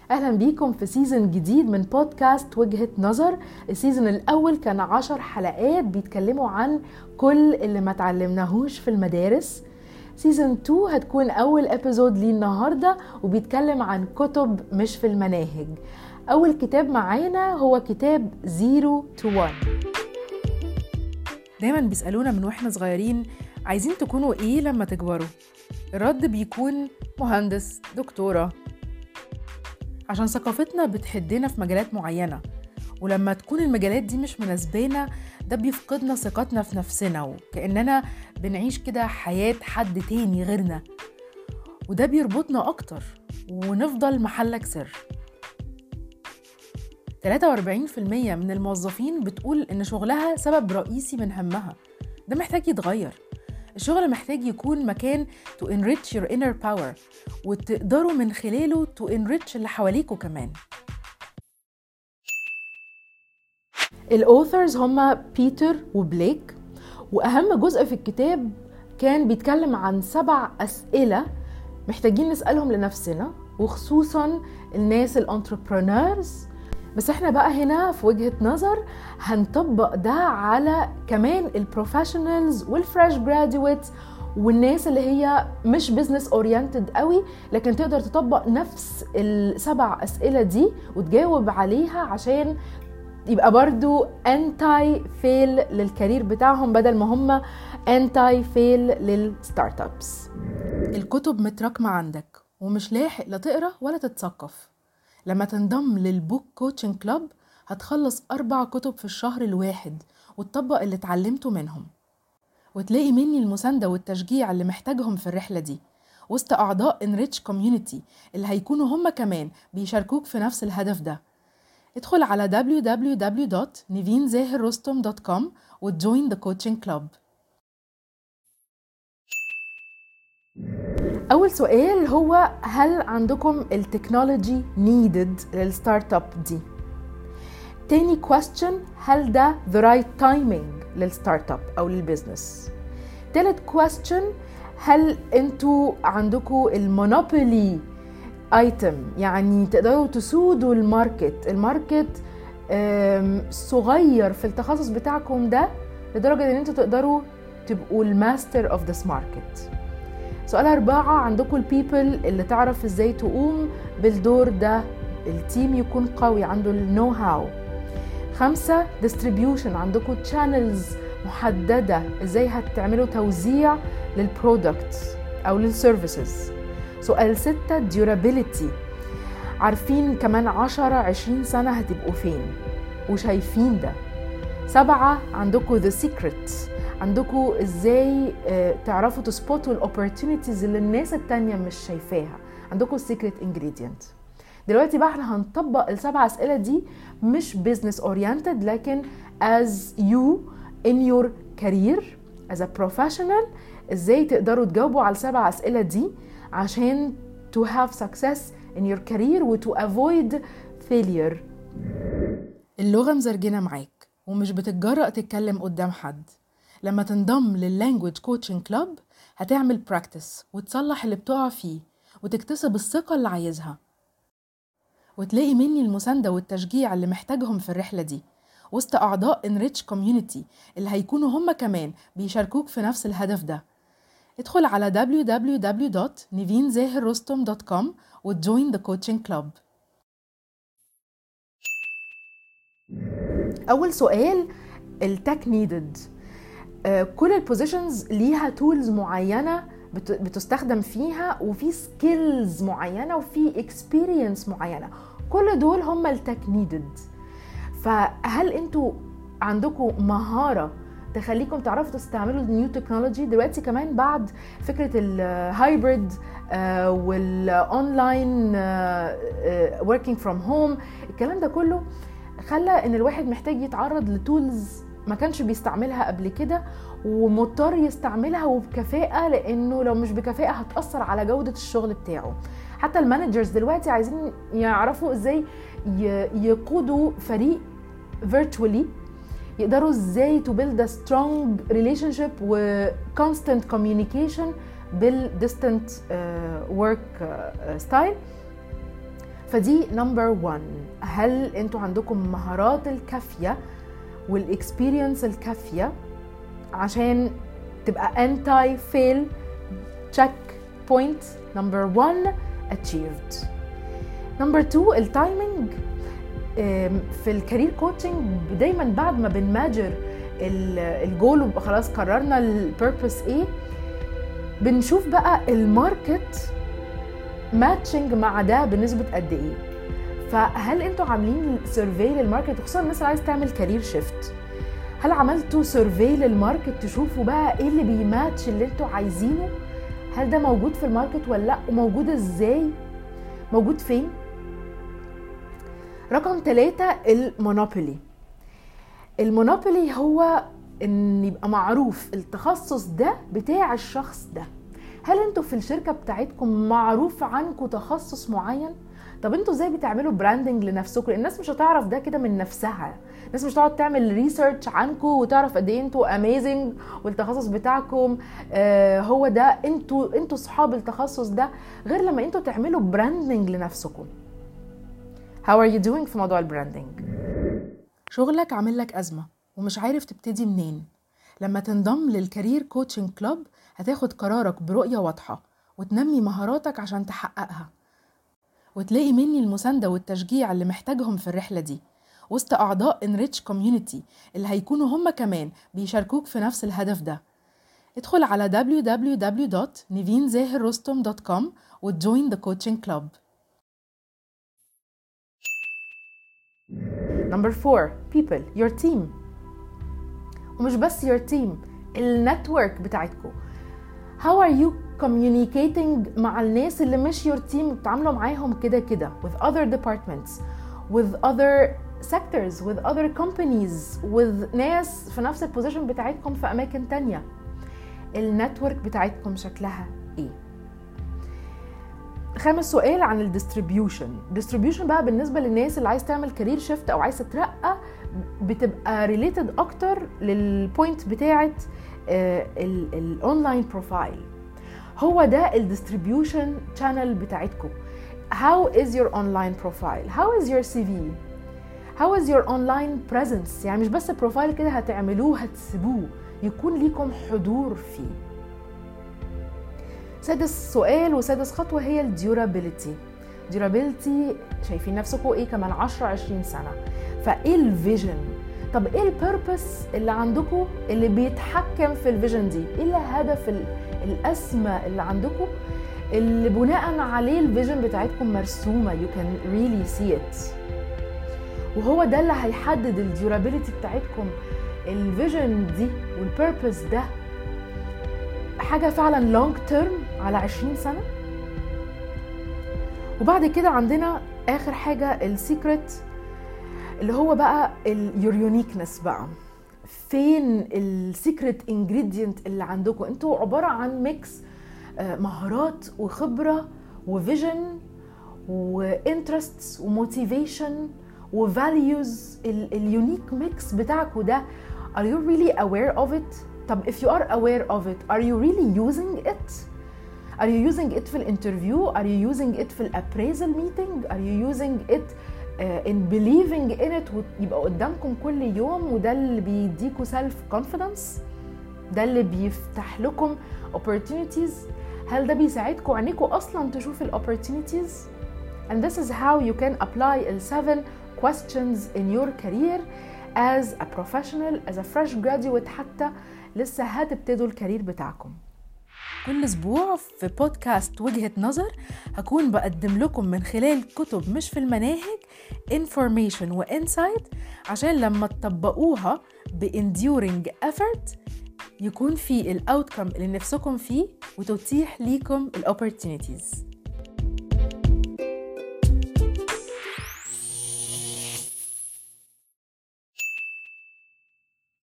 أهلا بيكم في سيزن جديد من بودكاست وجهة نظر. السيزن الأول كان 10 حلقات بيتكلموا عن كل اللي ما تعلمناهوش في المدارس. سيزن 2 هتكون أول ابيزود ليه النهاردة وبيتكلم عن كتب مش في المناهج. أول كتاب معانا هو كتاب 0 to 1. دايما بيسألونا من واحنا صغيرين عايزين تكونوا ايه لما تكبروا؟ الرد بيكون مهندس، دكتورة، عشان ثقافتنا بتحدنا في مجالات معينة، ولما تكون المجالات دي مش مناسبانا ده بيفقدنا ثقتنا في نفسنا وكأننا بنعيش كده حياة حد تاني غيرنا، وده بيربطنا أكتر ونفضل محلك سر. 43% من الموظفين بتقول إن شغلها سبب رئيسي من همها. ده محتاج يتغير. الشغل محتاج يكون مكان to enrich your inner power وتقدروا من خلاله to enrich اللي حواليكوا كمان. الأوثرز هما بيتر وبليك، وأهم جزء في الكتاب كان بيتكلم عن 7 أسئلة محتاجين نسألهم لنفسنا، وخصوصا الناس الانتربرونيرز. بس احنا بقى هنا في وجهة نظر هنطبق ده على كمان البروفيشنالز والفريش جراديويتس والناس اللي هي مش بيزنس اورينتد قوي، لكن تقدر تطبق نفس ال7 أسئلة دي وتجاوب عليها عشان يبقى برضو انتاي فيل للكارير بتاعهم بدل ما هم انتاي فيل للستارت ابس. الكتب متراكمة عندك ومش لاحق لا تقرأ ولا تتثقف. لما تنضم للبوك كوتشنج كلاب هتخلص 4 كتب في الشهر الواحد وتطبق اللي اتعلمته منهم، وتلاقي مني المساندة والتشجيع اللي محتاجهم في الرحلة دي وسط أعضاء Enrich Community اللي هيكونوا هم كمان بيشاركوك في نفس الهدف ده. ادخل على www.nivinzahirrostom.com وتجوين the coaching club. أول سؤال هو هل عندكم التكنولوجي needed للستارت اب دي؟ تاني question هل ده the right timing للستارت اب أو للبزنس؟ تالت question هل انتوا عندكم المونوبولي ايتم، يعني تقدروا تسودوا الماركت صغير في التخصص بتاعكم ده لدرجة ان انتوا تقدروا تبقوا الماستر اوف ذس ماركت. سؤال 4 عندكم البيبل اللي تعرف ازاي تقوم بالدور ده، التيم يكون قوي عنده النو هاو. 5 distribution، عندكم تشانلز محددة ازاي هتعملوا توزيع للبرودكت او للسيرفيسز. سؤال 6 durability، عارفين كمان 10-20 سنة هتبقوا فين وشايفين ده. 7 عندكم the secret، عندكم ازاي تعرفوا تسبوتوا الاوبورتونيتيز اللي الناس التانية مش شايفاها، عندكم السيكريت انجريدينت. دلوقتي بقى احنا هنطبق ال7 أسئلة دي مش business oriented، لكن as you in your career as a professional ازاي تقدروا تجاوبوا على ال7 أسئلة دي عشان to have success in your career و to avoid failure. اللغة مزرجنة معاك ومش بتتجرأ تتكلم قدام حد. لما تنضم لللانجويج كوتشنج كلاب هتعمل براكتس وتصلح اللي بتقع فيه وتكتسب الثقة اللي عايزها، وتلاقي مني المساندة والتشجيع اللي محتاجهم في الرحلة دي وسط أعضاء Enrich Community اللي هيكونوا هم كمان بيشاركوك في نفس الهدف ده. ادخل على www.nivinzahirrostom.com وتجوين the coaching club. أول سؤال التك نيدد. كل البوزيشنز ليها تولز معينة بتستخدم فيها، وفي سكيلز معينة، وفي اكسبيرينس معينة. كل دول هم التك نيدد. فهل انتوا عندكم مهارة تخليكم تعرفوا تستعملوا النيو تكنولوجي دلوقتي كمان بعد فكرة الهايبريد والاونلاين working from home؟ الكلام ده كله خلى ان الواحد محتاج يتعرض لتولز ما كانش بيستعملها قبل كده ومضطر يستعملها وبكفاءة، لانه لو مش بكفاءة هتأثر على جودة الشغل بتاعه. حتى المانجرز دلوقتي عايزين يعرفوا ازاي يقودوا فريق virtually، يقدروا ازاي to build a strong relationship و constant communication بال distant work style. فدي نمبر 1. هل انتوا عندكم مهارات الكافية والاكسبيرينس الكافية عشان تبقى انتي فيل؟ تشيك بوينت نمبر 1 achieved. نمبر 2 التايمينج. في الكارير كوتشنج دايما بعد ما بنماجر الجول وبقى خلاص قررنا البيربس ايه، بنشوف بقى الماركت ماتشنج مع ده بنسبة قد ايه. فهل انتوا عاملين سيرفي للماركت، خصوصا الناس اللي عايز تعمل كارير شيفت؟ هل عملتوا سيرفي للماركت تشوفوا بقى ايه اللي بيماتش اللي انتوا عايزينه؟ هل ده موجود في الماركت ولا لا؟ وموجود ازاي؟ موجود فين؟ رقم 3 المونوبولي. المونوبولي هو ان يبقى معروف التخصص ده بتاع الشخص ده. هل انتوا في الشركة بتاعتكم معروف عنكم تخصص معين؟ طب انتوا ازاي بتعملوا براندنج لنفسكم؟ الناس مش هتعرف ده كده من نفسها. الناس مش هتقعد تعمل ريسيرش عنكم وتعرف قد ايه انتوا اميزنج والتخصص بتاعكم هو ده، انتوا صحاب التخصص ده، غير لما انتوا تعملوا براندنج لنفسكم. How are you doing في موضوع البراندنج؟ شغلك عامل لك أزمة ومش عارف تبتدي منين. لما تنضم للكارير كوتشنج كلوب هتاخد قرارك برؤية واضحة وتنمي مهاراتك عشان تحققها، وتلاقي مني المساندة والتشجيع اللي محتاجهم في الرحلة دي وسط أعضاء Enrich Community اللي هيكونوا هم كمان بيشاركوك في نفس الهدف ده. ادخل على www.nivinzahirrostom.com وتجوين the coaching club. Number 4 people, your team. ومش بس your team، النتورك بتاعتكم. How are you communicating مع الناس اللي مش your team بتعاملوا معاهم كده with other departments, with other sectors, with other companies, with ناس في نفس البوزيشن بتاعتكم في أماكن تانية؟ النتورك بتاعتكم شكلها ايه؟ 5 سؤال عن الديستريبيوشن بقى بالنسبة للناس اللي عايز تعمل كارير شيفت أو عايز تترقى، بتبقى ريليتد أكتر للبوينت بتاعت الأونلاين بروفايل. هو ده الديستريبيوشن channel بتاعتكم. How is your online profile? How is your CV? How is your online presence؟ يعني مش بس بروفايل كده هتعملوه هتسيبوه، يكون ليكم حضور فيه. 6 سؤال وسادس خطوة هي الديورابيليتي. ديورابيليتي شايفين نفسكم ايه كمان 10-20 سنة؟ فايه الفيجن؟ طب ايه البيربس اللي عندكم اللي بيتحكم في الفيجن دي؟ ايه الهدف الأسمى اللي عندكم اللي بناء عليه الفيجن بتاعتكم مرسومة؟ you can really see it. وهو ده اللي هيحدد الديورابيليتي بتاعتكم. الفيجن دي والبيربس ده حاجة فعلا لونج تيرم على 20 سنة. وبعد كده عندنا آخر حاجة السيكريت، اللي هو بقى your uniqueness بقى. فين السيكريت انجريدينت اللي عندكم؟ انتوا عبارة عن ميكس مهارات وخبرة وفيجن وانترستس وموتيفيشن وفاليوز. اليونيك ميكس بتاعكم ده are you really aware of it؟ طب if you are aware of it, are you really using it? Are you using it في الانترفيو؟ Are you using it في الابريزل meeting؟ Are you using it in believing in it ويبقى قدامكم كل يوم؟ وده اللي بيديكوا self confidence، ده اللي بيفتح لكم opportunities. هل ده بيساعدكم عينيكم اصلا تشوف ال opportunities؟ And this is how you can apply the 7 questions in your career as a professional, as a fresh graduate، حتى لسه هتبتدوا الكارير بتاعكم. كل اسبوع في بودكاست وجهة نظر هكون بقدم لكم من خلال كتب مش في المناهج information و insight عشان لما تطبقوها ب enduring effort يكون في ال outcome اللي نفسكم فيه وتتيح ليكم ال opportunities.